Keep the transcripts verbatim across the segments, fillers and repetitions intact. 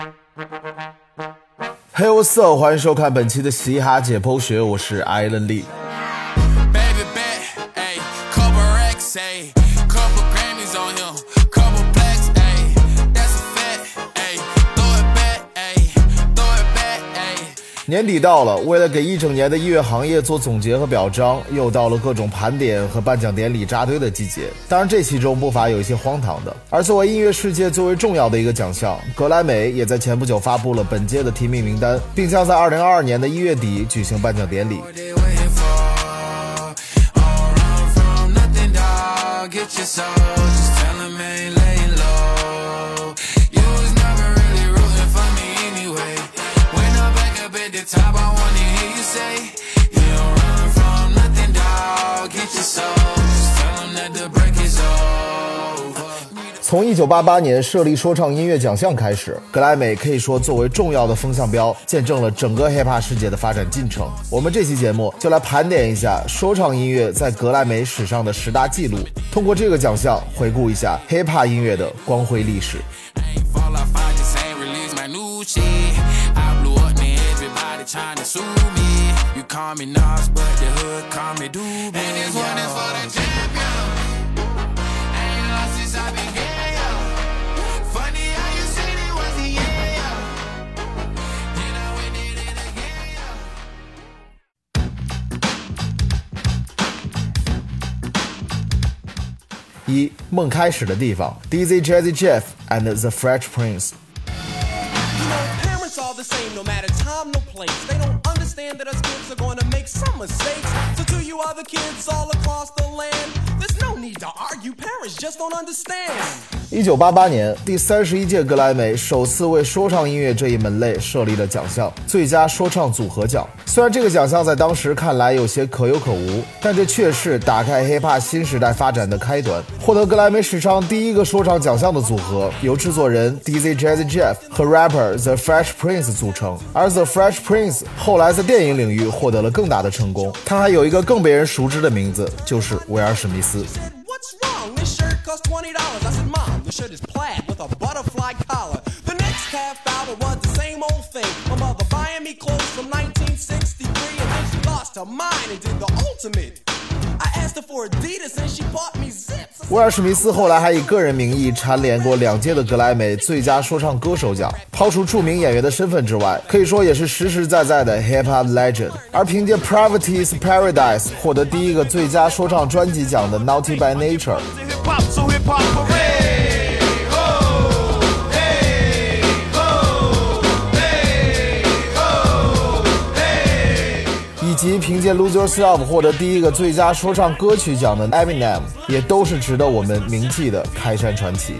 嘿、hey, what's up， 欢迎收看本期的嘻哈解剖学，我是艾伦利。年底到了，为了给一整年的音乐行业做总结和表彰，又到了各种盘点和颁奖典礼扎堆的季节。当然这其中不乏有一些荒唐的。而作为音乐世界最为重要的一个奖项，格莱美也在前不久发布了本届的提名名单，并将在二零二二年的一月底举行颁奖典礼。从一九八八年设立说唱音乐奖项开始，格莱美可以说作为重要的风向标，见证了整个 hiphop 世界的发展进程。我们这期节目就来盘点一下说唱音乐在格莱美史上的十大记录，通过这个奖项回顾一下 hiphop 音乐的光辉历史。一梦开始的地方 D Z Jazzy Jeff and the Fresh Prince。 You know, parents are the same no matter time, no place. They don't understand that us kids are going to make some mistakes. So to you other kids all across the land, there's no need to argue. Parents just don't understand. 一九八八年，第三十一届格莱美首次为说唱音乐这一门类设立了奖项——最佳说唱组合奖。虽然这个奖项在当时看来有些可有可无，但这却是打开 hiphop 新时代发展的开端。获得格莱美史上第一个说唱奖项的组合，由制作人 D Z Jazzy Jeff 和 rapper The Fresh Prince 组成。而 The Fresh Prince 后来在电影领域获得了更大的成功，他还有一个更被人熟知的名字，就是威尔史密斯。 Cost twenty dollars. I said, Mom, the shirt is plaid with a butterfly collar. The next half hour was the same old thing. My mother buying me clothes from nineteen sixty-three, and then she lost her mind and did the ultimate. I asked her for Adidas and she bought me zips. 威尔史密斯后来还以个人名义蝉联过两届的格莱美最佳说唱歌手奖。抛除著名演员的身份之外，可以说也是实实在在的 hip-hop legend。而凭借 Poverty's Paradise 获得第一个最佳说唱专辑奖的 Naughty by Nature。以及凭借 Lose Yourself 获得第一个最佳说唱歌曲奖的 Eminem， 也都是值得我们铭记的开山传奇。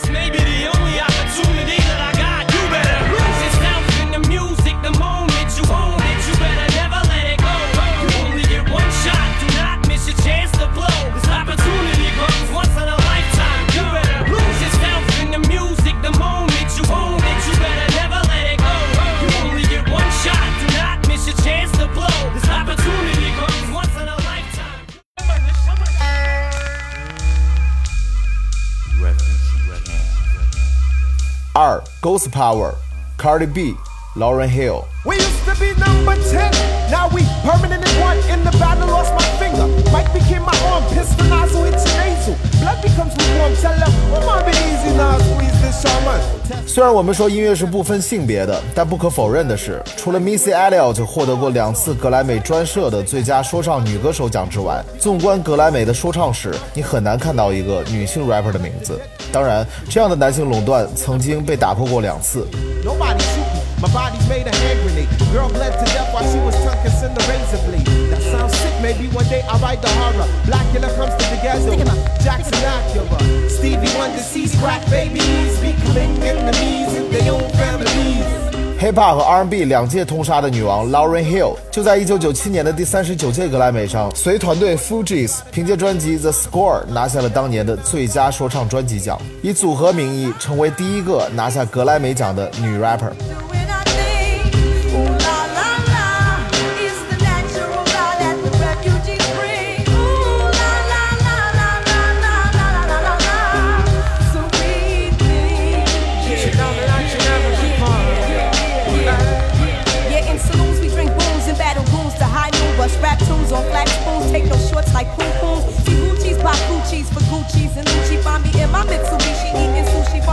二 Ghost Power Cardi B Lauryn Hill。 We used to be number ten, now we permanently one. In the battle lost my finger, Mike became my arm, pistol nozzle hits your nasal, blood becomes lukewarm. Tell them, come on, be easy now, squeeze this shaman. 虽然我们说音乐是不分性别的，但不可否认的是，除了 Missy Elliott 获得过两次格莱美专设的最佳说唱女歌手奖之外，纵观格莱美的说唱史，你很难看到一个女性 rapper 的名字。当然，这样的男性垄断曾经被打破过两次。 Nobody shoot me, my body's made a hand grenade. Girl bled to death while she was tongue kissing the razor blade. That sounds sick, maybe one day I'll write the horror. Blackula comes to the ghetto, Jackson Acura. Stevie Wonder sees crack babies becoming enemies in their own families. Hip-hop 和 R and B 两届通杀的女王 Lauryn Hill 就在一九九七年的第三十九届格莱美上，随团队 Fugees 凭借专辑 The Score 拿下了当年的最佳说唱专辑奖，以组合名义成为第一个拿下格莱美奖的女 rapper。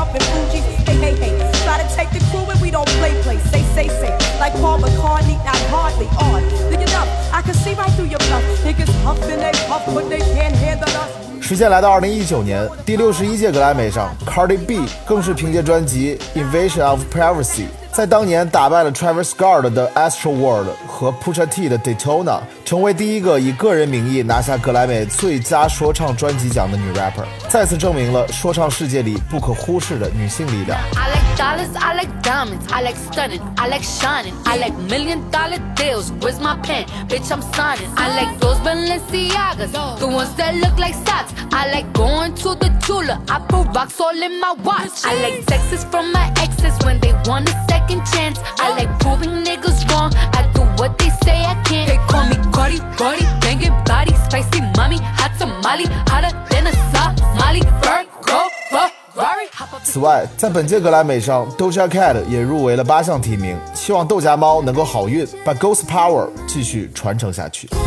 up in Fuji. Hey, hey, hey. Try to take the crew and we don't play, play. Say, say, say. Like Paul McCartney, not hardly on. Look it up. I can see right through your bluff. Niggas huffing they puff, but they can't handle us. 时间来到二零一九年，第六十一届格莱美上 ，Cardi B 更是凭借专辑《Invasion of Privacy》在当年打败了 Travis Scott 的 Astro World 和 Pusha T 的 Daytona， 成为第一个以个人名义拿下格莱美最佳说唱专辑奖的女 rapper， 再次证明了说唱世界里不可忽视的女性力量。 I like dollars, I like diamonds, I like stunning, I like shining, I like million dollar deals. Where's my pen? Bitch, I'm signing. I like those Balenciagas, the ones that look like socks. I like going to the Tula, I put rocks all in my watch. I like texts from my exes when they want a second chance. I like proving niggas wrong, I do what they say I can't. They call me Cardi, Cardi, banging body, spicy mommy, hot tamale, hotter than a Somali. Virgo, Ferrari. 此外，在本届格莱美上 Doja Cat 也入围了八项提名，希望豆荚猫能够好运，把 Ghost Power 继续传承下去。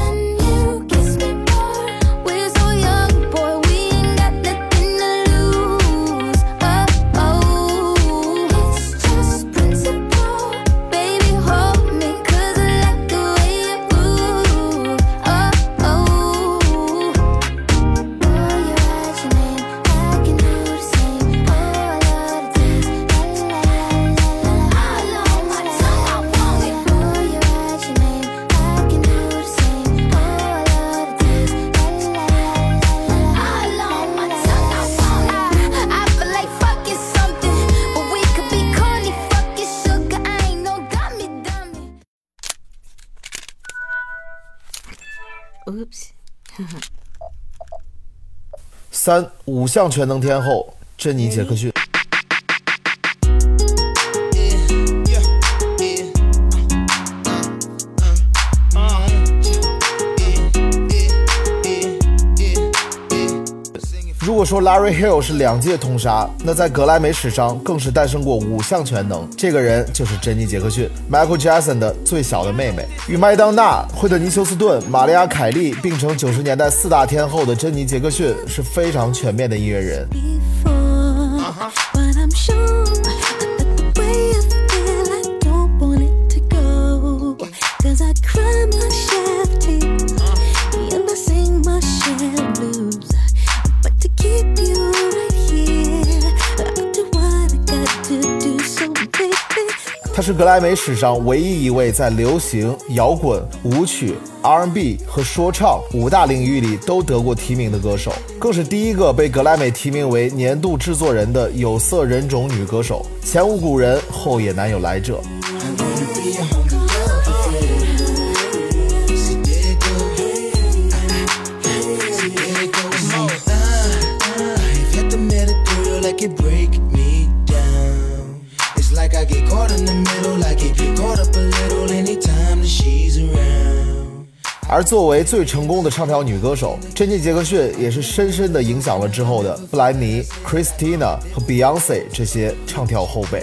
Oops 三五项全能天后珍妮杰克逊。如果说 Larry Hill 是两届通杀，那在格莱美史上更是诞生过五项全能，这个人就是珍妮杰克逊 ，Michael Jackson 的最小的妹妹。与麦当娜、惠特尼休斯顿、玛丽亚凯莉并称九十年代四大天后的珍妮杰克逊是非常全面的音乐人。她是格莱美史上唯一一位在流行、摇滚、舞曲、R and B 和说唱五大领域里都得过提名的歌手，更是第一个被格莱美提名为年度制作人的有色人种女歌手，前无古人，后也难有来者。而作为最成功的唱跳女歌手，珍妮杰克逊也是深深地影响了之后的布兰妮、Christina 和 Beyonce 这些唱跳后辈。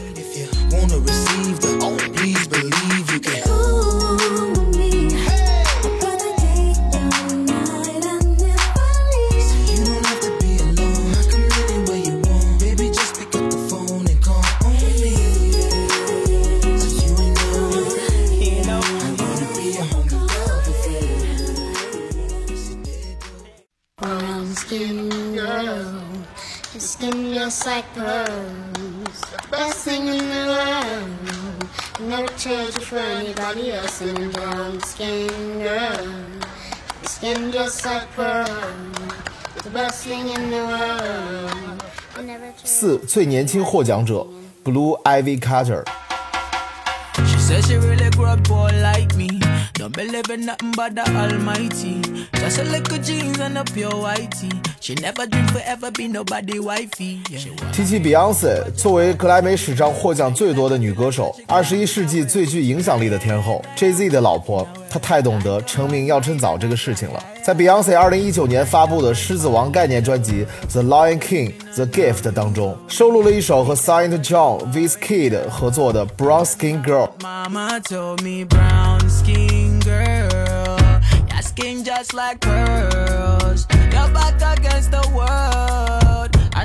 Skin just like pearls, best thing in the world. Never trade you for anybody else. And brown skin girl, skin just like pearls, the best thing in the world. 四最年轻获奖者 Blue Ivy Carter。She said she really grew up poor like me. Don't believe in nothing but the Almighty. Just a little jeans and a pure whitey. She never dreamed forever be nobody wifey. 提起 Beyonce， 作为格莱美史上获奖最多的女歌手，二十一世纪最具影响力的天后 Jay-Z 的老婆，她太懂得成名要趁早这个事情了。在 Beyonce 二零一九年发布的《狮子王》概念专辑《The Lion King: The Gift》当中，收录了一首和 Saint John、Wizkid 合作的《Brown Skin Girl》。Mama told me brown skin girl, your skin just like pearls. Your back against the world. I never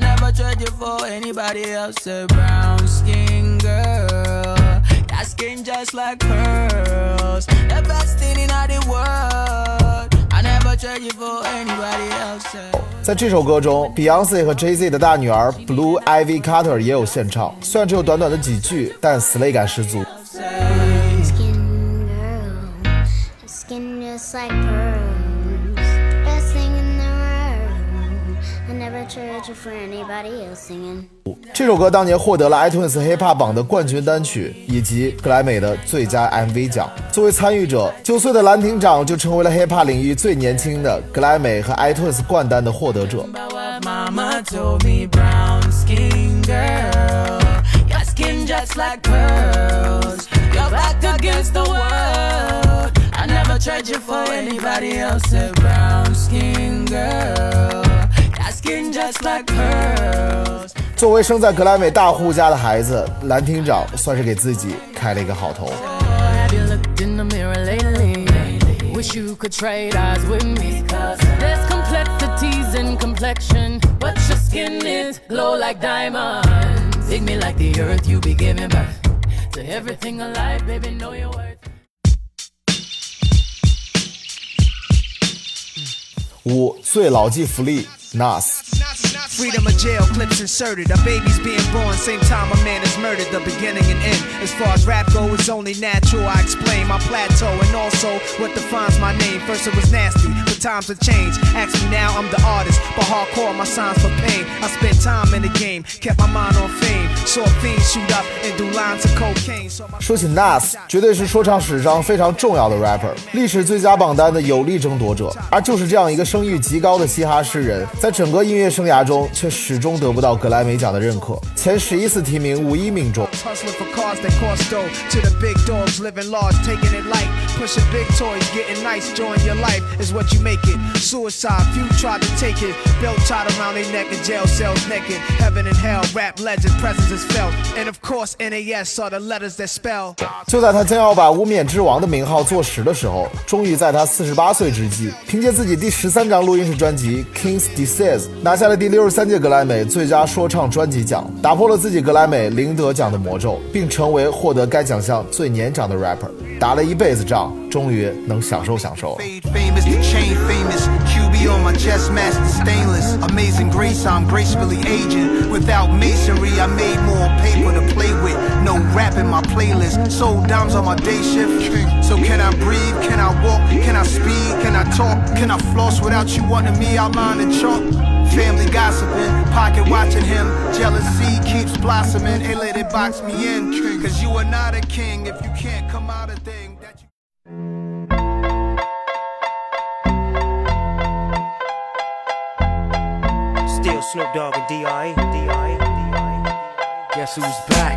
trade you for anybody else. A brown skin girl, that skin just like pearls. The best thing in all the world. I never trade you for anybody else. 在这首歌中 Beyonce 和 Jay-Z 的大女儿 Blue Ivy Carter 也有献唱，虽然只有短短的几句，但 slay 感十足。 Skin girl, skin just like pearls. Best thing in the world. I never trade you for anybody else singing. 这首歌当年获得了 iTunes Hip Hop 榜的冠军单曲以及格莱美的最佳 M V 奖。作为参与者，九岁的蓝厅长就成为了 Hip Hop 领域最年轻的格莱美和 iTunes 冠单的获得者。 Mama told me brown skin girl, your skin just like pearls. You're back against the world. I never trade you for anybody else. A brown skin girl, your skin just like pearls. 作为生在格莱美大户家的孩子，蓝厅长算是给自己开了一个好头。 Have you looked in the mirror lately? Wish you could trade eyes with me. There's complexities in complexion, but your skin is glow like diamonds. Dig me like the earth, you be giving birth to everything alive, baby, know your worth. 五最牢记福利 Nas。Freedom of jail, clips inserted. A baby's being born, same time a man is murdered. The beginning and end. As far as rap go, it's only natural. I explain my plateau and also what defines my name. First it was nasty, but times have changed. Ask me now, I'm the artist, but hardcore my signs for pain. I spent time in the game, kept my mind on fame. Saw fiends shoot up and do lines of cocaine. 说起 Nas， 绝对是说唱史上非常重要的 rapper， 历史最佳榜单的有力争夺者。而就是这样一个声誉极高的嘻哈诗人，在整个音乐生涯中却始终得不到格莱美奖的认可，前十一次提名无一命中。就在他将要把无冕之王的名号坐实的时候，终于在他四十八岁之际，凭借自己第十三张录音室专辑 King's Disease 拿下了第六十三届格莱美最佳说唱专辑奖，打破了自己格莱美零得奖的魔咒，并成为获得该奖项最年长的 rapper。打了一辈子仗，终于能享受享受了。On my chest master stainless, amazing grace, I'm gracefully aging. Without masonry, I made more paper to play with. No rap in my playlist, sold dimes on my day shift. So can I breathe? Can I walk? Can I speed? Can I talk? Can I floss without you wanting me outline and chalk? Family gossiping, pocket watching him. Jealousy keeps blossoming. Hey, let it box me in. Cause you are not a king if you can't come out a thing that you. Still Snoop Dogg and D R E. D R E. D R E. Guess who's back?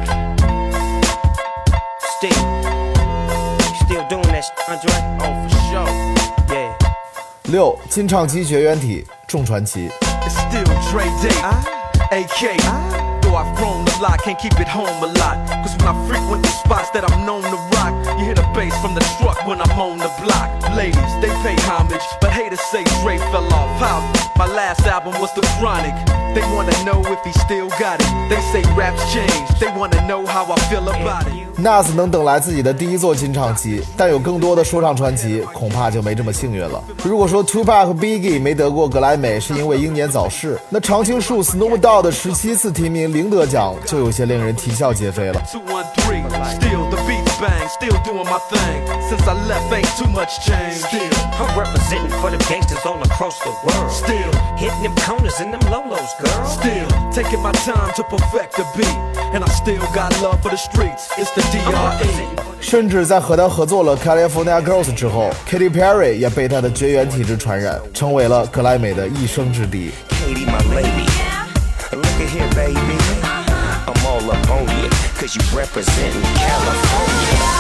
Still. Still doing that shit, Andre? Oh, for sure. Yeah. 六金唱机绝缘体众传奇。 It's still Dre Day, A K. Though I've grown a lot, can't keep it home a lot. Cause when I frequent the spots that I'm known to rock, you hear the bass from the truck when I'm on the block. Ladies, they pay homage, but haters say Dre fell off. How? My last album was The Chronic. They wanna know if he still got it. They say rap's changed. They wanna know how I feel about it. Nas 能等来自己的第一座金唱机，但有更多的说唱传奇恐怕就没这么幸运了。如果说 Tupac 和 Biggie 没得过格莱美是因为英年早逝，那常青树 Snoop Dogg 的十七次提名零得奖就有些令人啼笑皆非了。 Still the beats bang, still doing my thing. Since I left, ain't too much change. Still, I'm representing for the gangsters all across the world. Still, hitting them corners and them lolos, girl. Still, taking my time to perfect the beat. And I still got love for the streets. It's the D R E. 甚至在和他合作了 California Girls 之后 Katy Perry 也被他的绝缘体质传染，成为了格莱美的一生之敌。 Katy, my lady, look at here, baby. I'm all up on you, cause you representing California.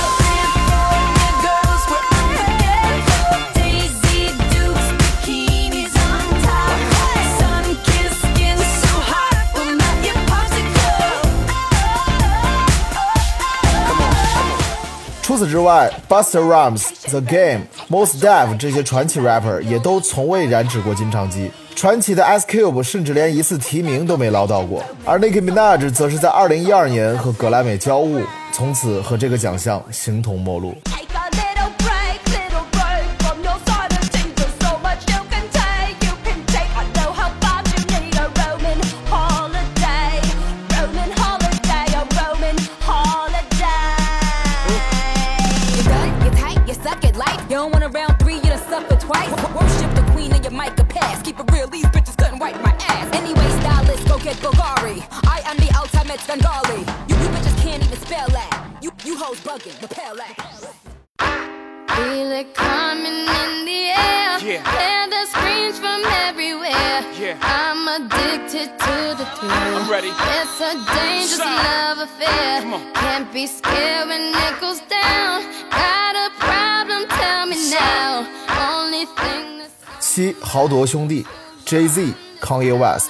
Come 除此之外 Busta Rhymes, The Game, Mos Def 这些传奇 rapper 也都从未染指过金唱机。 传奇的 Ice Cube 甚至连一次提名都没捞到过，而 Nicki Minaj 则是在二零一二年和格莱美交恶，从此和这个奖项形同陌路。 Get Bulgari. I am the ultimate Bengali. You, you bitches can't even spell that. You, you hoes bugging. Repel that. Feel it coming in the air. Yeah. Hear the screams from everywhere. Yeah. I'm addicted to the thrill. I'm ready. It's a dangerous Stop. love affair. Come on. Can't be scared when it goes down. Got a problem? Tell me now. Only thing that's 七豪夺兄弟 Jay-Z Kanye West。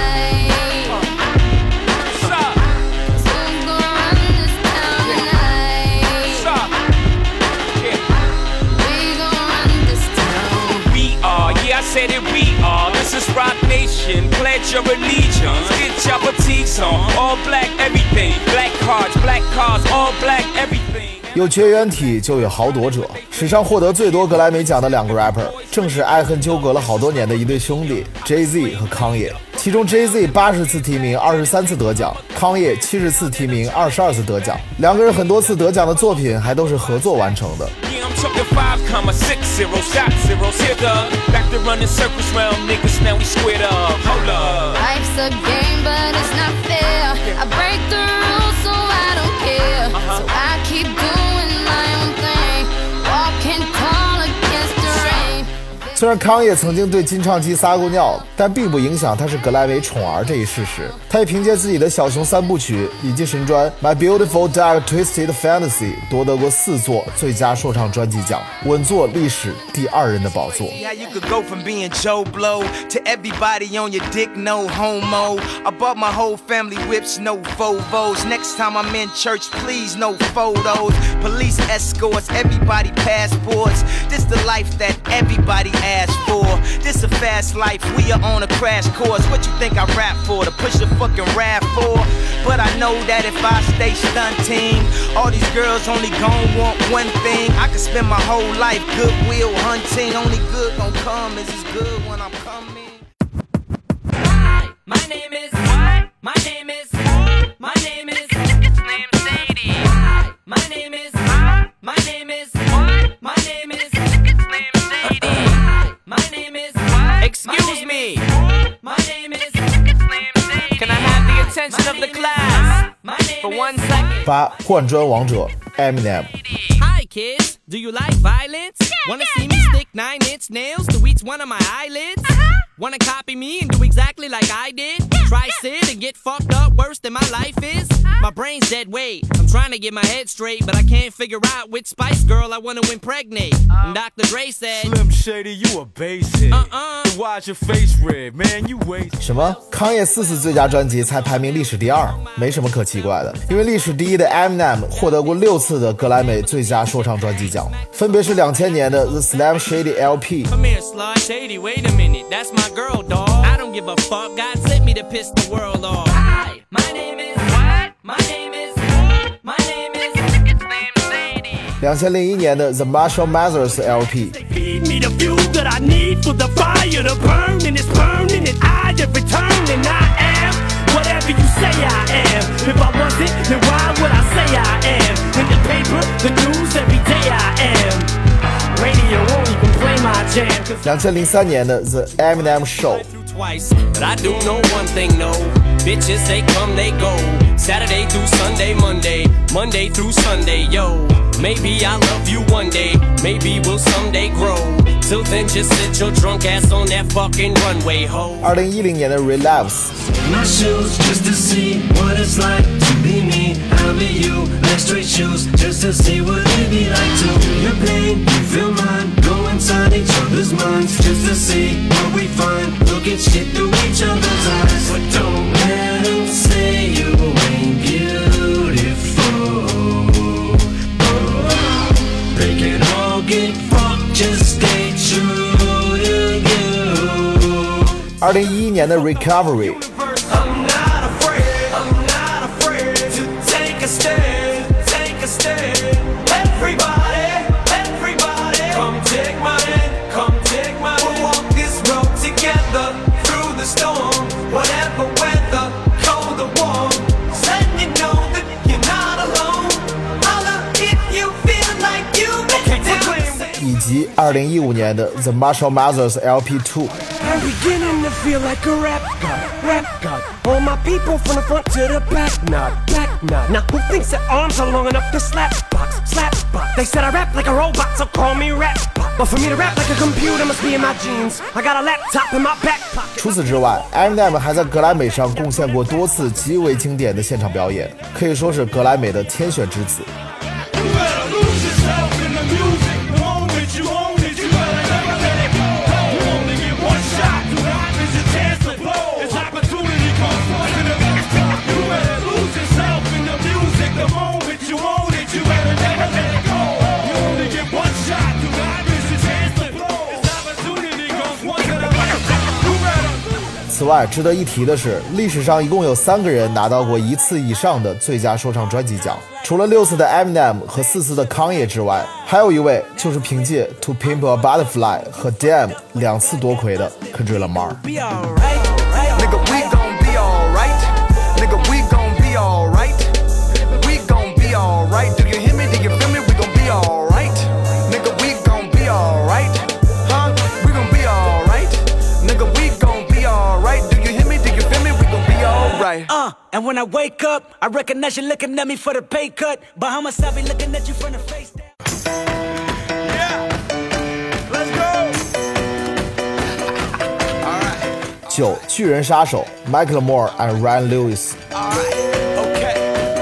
Said it we are, this is Rock Nation, pledge your allegiance, get your boutiques on, all black everything, black cards, black cars, all black everything. 有绝缘体就有豪夺者，史上获得最多格莱美奖的两个 rapper， 正是爱恨纠葛了好多年的一对兄弟 Jay-Z 和 Kanye。其中 Jay-Z 八十次提名，二十三次得奖 ，Kanye 七十次提名，二十二次得奖。两个人很多次得奖的作品还都是合作完成的。 Talking five comma six zero shot zeros here the back to running circles round niggas now we squared up. Hold up. Life's a game, but it's not fair. I break the rules, so I don't care. Uh-huh. So I keep doing my own thing, walking tall against the rain. 虽然康也曾经对金唱机撒过尿，但并不影响他是格莱美宠儿这一事实。他也凭借自己的小熊三部曲以及神专 My Beautiful Dark Twisted Fantasy 夺得过四座最佳说唱专辑奖，稳坐历史第二人的宝座。 Yeah, you could go from being Joe Blow to everybody on your dick, no homo. I bought my whole family whips, no Volvos. Next time I'm in church, please no photos. Police escorts, everybody passports. This the life that everybody asked for. This a fast life, we are on a crash course. What you think I rap for? To push a fucking rap for? But I know that if I stay stunting, all these girls only gon' want one thing. I could spend my whole life goodwill hunting. Only good gon' come is as good when I'm coming. Hi, my name is what? My name is my name is it's named Sadie. Hi, my name is my name is what? My name is it's named Sadie. Hi, my name is what? Excuse me. My name is it's named Sadie. Can I have the attention of the class for one second? 八换装王者 Eminem。 Hi kids, do you like violence? Wanna see me stick nine inch nails to each one of my eyelids? Wanna copy me and do exactly like I did? Try sit and get fucked up worse than my life is? My brain's dead weight. I'm trying to get my head straight, but I can't figure out which Spice Girl I wanna impregnate. And Doctor Dre said, Slim Shady, you a basehead. Uh-uh. Why's your face red, man? You waste. 什么？康也四次最佳专辑才排名历史第二，没什么可奇怪的，因为历史第一的 Eminem 获得过六次的格莱美最佳说唱专辑奖，分别是两千年的 The Slim Shady L P。 Come here, Slim Shady, wait a minute, that's my girl, dawg. I don't give a fuck, God sent me to piss the world off. Hi, my name is what? My name is my name is it's named Sadie. 两千零一年的 The Marshall Mathers L P。 Feed me the fuel that I need for the fire to burn, and it's burning, and I have returned, and I am whatever you say I am. If I wasn't, then why would I say I am? In the paper, the news, every day I am. Radio won't even play my jam. 两千零三年的 The Eminem Show。 Twice, but I do know one thing, no. Bitches, they come, they go. Saturday through Sunday, Monday, Monday through Sunday, yo. Maybe I'll love you one day, maybe we'll someday grow. Till then, just sit your drunk ass on that fucking runway, ho. 二零一零年的 Relapse。 My shoes just to see what it's like to be me. I'll be you, like straight shoes just to see what it be like to feel your pain, you feel mine. Go inside each other's minds just to see what we find. Look at shit through each other's eyes, but don't let them say you ain't beautiful. Oh, they can all get fucked, just stay true to you. 二零一一年的 Recovery。以及二零一五年的 The Marshall Mathers L P two。 I'm beginning to feel like a rap god, rap god. All my people from the front to the back, nod, back nod. Now who thinks their arms are long enough to slap box, slap box? They said I rap like a robot, so call me rap bot. But for me to rap like a computer must be in my genes. I got a laptop in my back pocket. 除此之外 Eminem 还在格莱美上贡献过多次极为经典的现场表演，可以说是格莱美的天选之子。此外，值得一提的是，历史上一共有三个人拿到过一次以上的最佳说唱专辑奖，除了六次的 Eminem 和四次的康也之外，还有一位就是凭借 To Pimp a Butterfly 和 Damn 两次夺魁的 Kendrick Lamar。 Uh, and when I wake up, I recognize you looking at me for the pay cut. Bahamas, I be looking at you from the face down. Yeah, let's go. All right. 九巨人杀手 Macklemore and Ryan Lewis。 All right, okay.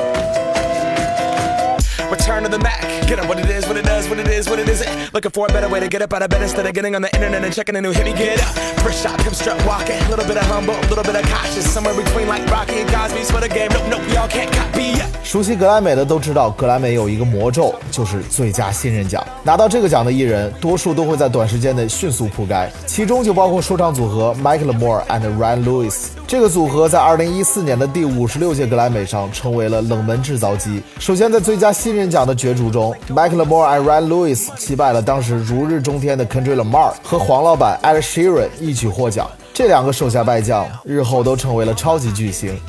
Return to the Mac. Get up what it is, what it does, what it is, what it isn't. Looking for a better way to get up out of bed instead of getting on the internet and checking a new hit. Me get up. First shot, come strut walking. A little bit of humble, a little bit of cautious. Somewhere between like Rocky and Cosby's for the game. Nope, nope, y'all can't copy yet. 熟悉格莱美的都知道，格莱美有一个魔咒，就是最佳新人奖。拿到这个奖的艺人，多数都会在短时间内迅速铺盖，其中就包括说唱组合 Macklemore and Ryan Lewis。这个组合在二零一四年的第五十六届格莱美上成为了冷门制造机。首先，在最佳新人奖的角逐中 ，Macklemore and Ryan Lewis 击败了当时如日中天的 Kendrick Lamar 和黄老板 Ed Sheeran 一举获奖。这两个手下败将日后都成为了超级巨星。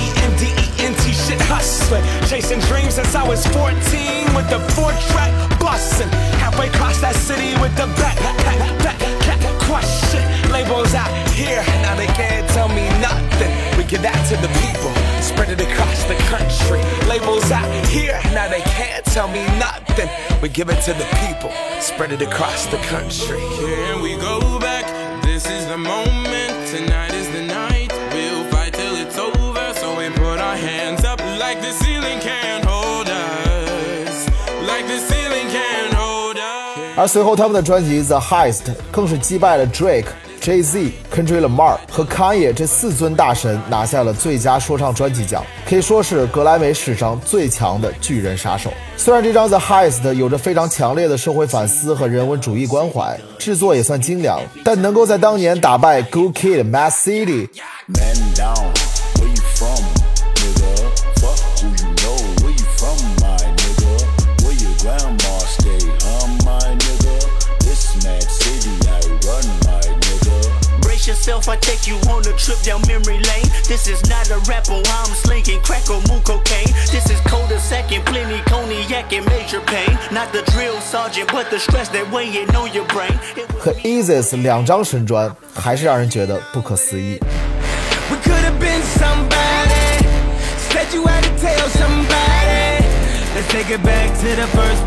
Chasing dreams since I was fourteen with the four track bustin'. Halfway across that city with the back, back, back, back, question. Labels out here, now they can't tell me nothing. We give that to the people, spread it across the country. Labels out here, now they can't tell me nothing. We give it to the people, spread it across the country. Here we go back, this is the moment, tonight is the night. We'll fight till it's over, so we put our hands up like the ceiling can't hold us, like the ceiling can't hold us. 而随后他们的专辑 The Heist 更是击败了 Drake、Jay-Z、Kendrick Lamar 和 Kanye 这四尊大神，拿下了最佳说唱专辑奖，可以说是格莱美史上最强的巨人杀手。虽然这张 The Heist 有着非常强烈的社会反思和人文主义关怀，制作也算精良，但能够在当年打败 Good Kid、Mad City。Man down.Where you from, nigga? Fuck who you know. Where you from, my nigga? Where your grandma stay, huh, my nigga? This mad city I run, my nigga. Brace yourself, I take you on a trip down memory lane. This is not a rapper, I'm slinging crack or moo cocaine. This is cul-de-sac and plenty cognac and major pain. Not the drill sergeant, but the stress that weighing on your brain. 和 Eazy 两张神专，还是让人觉得不可思议。 We could have been somebody. Said you had to tell somebody. Let's take it back to the first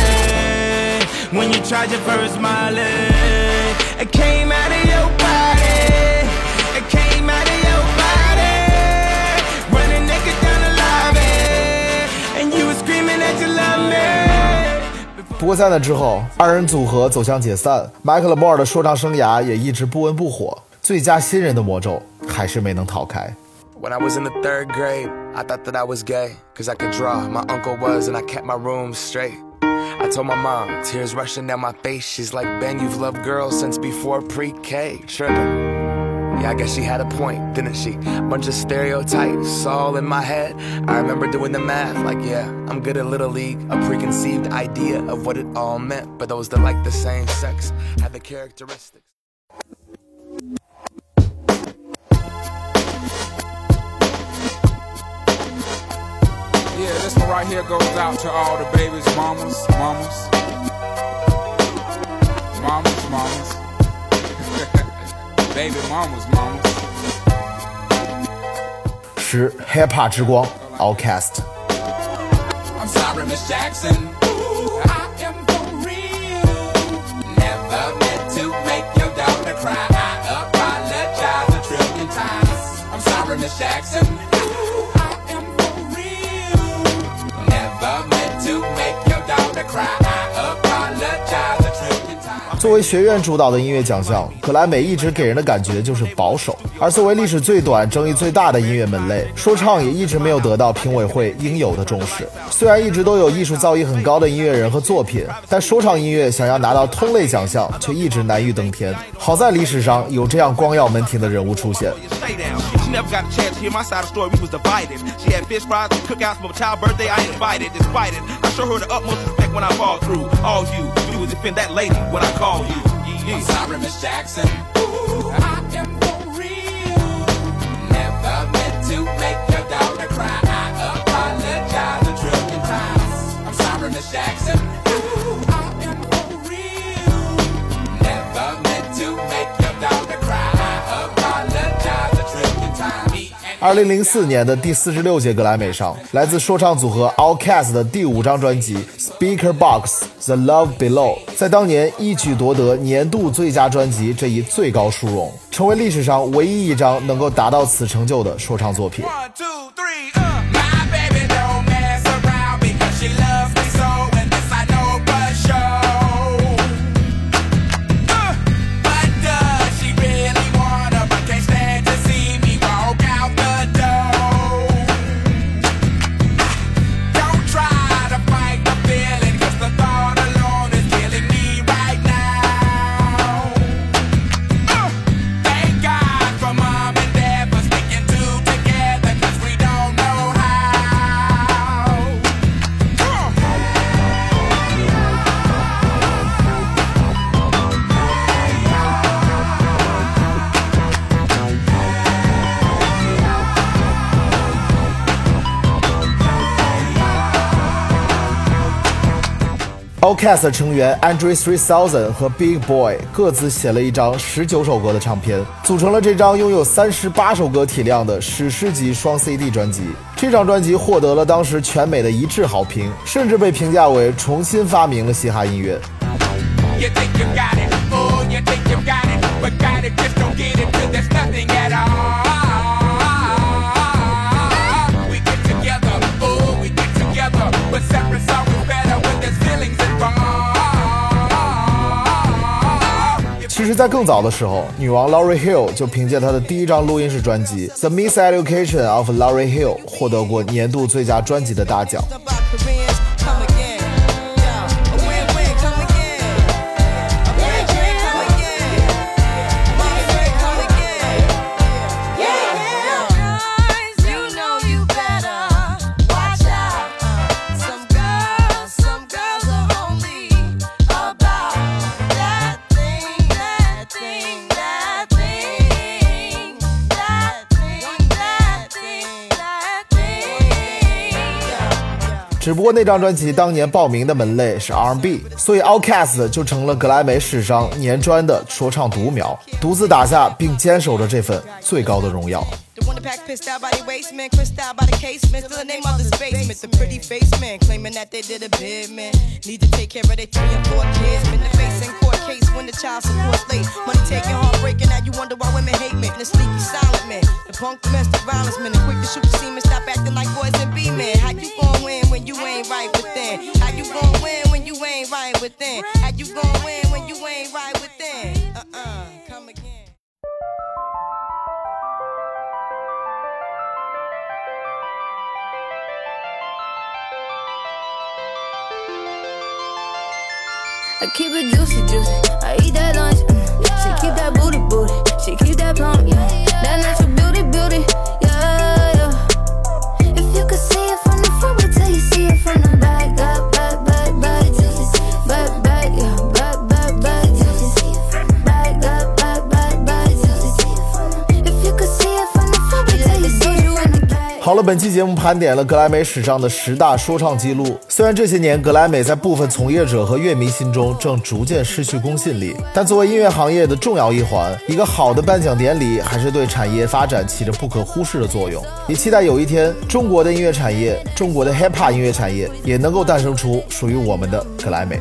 party. When you tried your first Molly. It came out of your body. It came out of your body. Running naked down the lobby. And you were screaming that you love me. 不过在那之后，二人组合走向解散，迈克勒·莫尔的说唱生涯也一直不温不火。最佳新人的魔咒还是没能逃开。 When I was in the third grade, I thought that I was gay, cause I could draw. My uncle was, and I kept my room straight. I told my mom, tears rushing down my face. She's like, Ben, you've loved girls since before pre-K. Trippin'. Yeah, I guess she had a point, didn't she? Bunch of stereotypes all in my head. I remember doing the math, like, yeah, I'm good at Little League. A preconceived idea of what it all meant. But those that like the same sex had the characteristics. Yeah, this one right here goes out to all the babies, mamas, mamas. Mamas, mamas. Baby mamas, mamas. 十 Hip Hop 之光 Outkast。 I'm sorry, Miss Jackson. Ooh, I am for real. Never meant to make your daughter cry. I apologize a trillion times. I'm sorry, Miss Jackson. Ooh, I am for real. Never meant to make your daughter cry. I apologize a trillion times. 作为学院主导的音乐奖项，格莱美一直给人的感觉就是保守。而作为历史最短、争议最大的音乐门类，说唱也一直没有得到评委会应有的重视。虽然一直都有艺术造诣很高的音乐人和作品，但说唱音乐想要拿到通类奖项，却一直难于登天。好在历史上有这样光耀门庭的人物出现。 She never got a chance to hear my side of the story, we was divided. She had fish fries and cookouts for my child's birthday, I ain't invited. Despite it, I show her the utmost respect when I fall through. All you, you was defend that lady when I call you. Yeah, yeah. I'm sorry, Miss Jackson. Ooh, I am for real. Never meant to make your daughter cry. I apologize a trillion times. I'm sorry, Miss Jackson. Ooh, I am for real. Never meant to make your daughter cry. I apologize a trillion times. 二零零四年的第四十六届格莱美上，来自说唱组合 Outkast 的第五张专辑 Speaker Box The Love Below 在当年一举夺得年度最佳专辑这一最高殊荣，成为历史上唯一一张能够达到此成就的说唱作品。Outkast 成员 Andre three thousand 和 Big Boy 各自写了一张十九首歌的唱片，组成了这张拥有三十八首歌体量的史诗级双 C D 专辑。这张专辑获得了当时全美的一致好评，甚至被评价为重新发明了嘻哈音乐。 You think you got it, oh, you think you got it, but got it, just don't get it till there's nothing at all. We get together, oh, we get together, but separate always better when there's feelings involved. 其实在更早的时候，女王 Lauryn Hill 就凭借她的第一张录音室专辑 The Miseducation of Lauryn Hill 获得过年度最佳专辑的大奖。只不过那张专辑当年报名的门类是 R and B， 所以 Outkast 就成了格莱美史上年专的说唱独苗，独自打下并坚守着这份最高的荣耀。 The one that pack pissed out by the waistman, crissed out by the casement, still the name of this basement. The pretty face man claiming that they did a bid, man. Need to take care of their three and four kids. Been the face in court case when the child support's late. Money taking, heartbreaking, now you wonder why women hate men. The sneaky silent man, the punk domestic violence man, the quick to shoot the semen, stop acting like boys and be men. How you gon' win when you ain't right within? How you gon' win when you ain't right within? How you gon' win when you ain't right within? Uh-uh, come again. I keep it juicy, juicy. I eat that lunch. Mm. She keep that booty, booty. She keep that plump, yeah. That natural beauty, beauty, yeah, yeah. If you could see it from the front, wait till you see it from the back, back, back, back, back, back, back, yeah, back, back, back, back, back, back, back, back. If you could see it from the front, wait till you see it from the back. 好了，本期节目盘点了格莱美史上的十大说唱记录。虽然这些年格莱美在部分从业者和乐迷心中正逐渐失去公信力，但作为音乐行业的重要一环，一个好的颁奖典礼还是对产业发展起着不可忽视的作用。也期待有一天，中国的音乐产业，中国的 hip hop 音乐产业也能够诞生出属于我们的格莱美。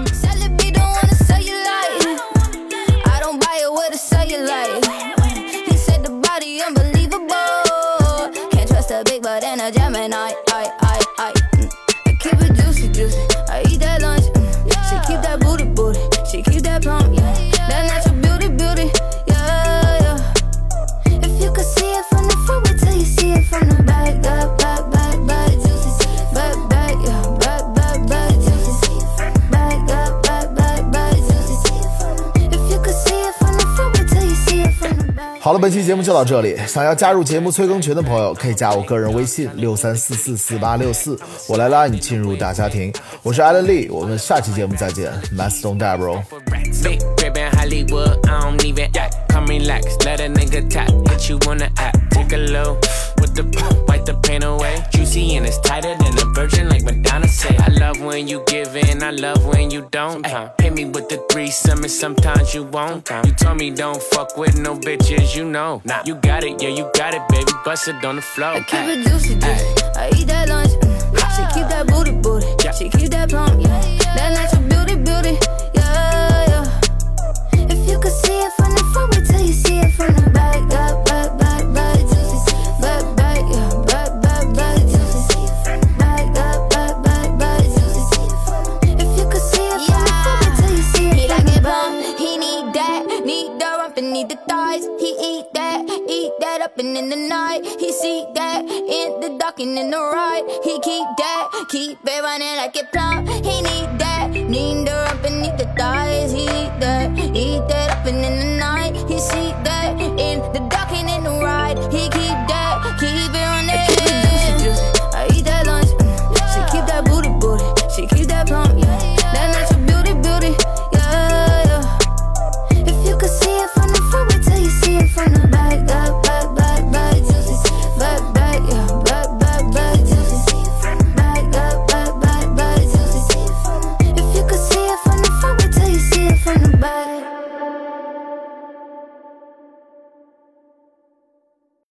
Big butt and a Gemini, I, I, I, mm. I keep it juicy, juicy. I eat that lunch, mm. She keep that booty, booty. She keep that plump, yeah. That natural beauty, beauty, yeah, yeah. If you could see it from the front, wait till you see it from the back, back, back, back, back, back, back, yeah, back, back, back, back, back, back, back, back. If you could see it from the front, wait till you see it from the back. 好了，本期节目就到这里。想要加入节目催更群的朋友，可以加我个人微信六三四四四八六四，我来拉你进入大家庭。我是 Alan Lee， 我们下期节目再见。Let's don't die, bro. Big crib in Hollywood, I don't even act. Come relax, let a nigga tap. Hit you on the app, take a low with the wipe the pain away. Juicy and it's tighter than a virgin, like Madonna say. I love when you give in, I love when you don't. Uh, hit me with the threesome and sometimes you won't. Uh, you told me don't fuck with no bitches, you know. Nah, you got it, yeah, you got it, baby. Bust it on the floor. I keep it juicy, juicy. I eat that lunch, mm. She keep that booty, booty. She keep that plump, yeah. That natural beauty, beauty, yeah, yeah. If you could see it from the front, wait till you see it from the back, back, back, back, back, back, back, yeah, back, back, back, back, back, back, back, back. If you could see it from the front, wait till you see it. He like it bump, he need that, need the rump and need the thighs. He eat that, eat that up and in the night. He see that in the dark and in the ride. He keep that, keep it running like it plump. He need that, need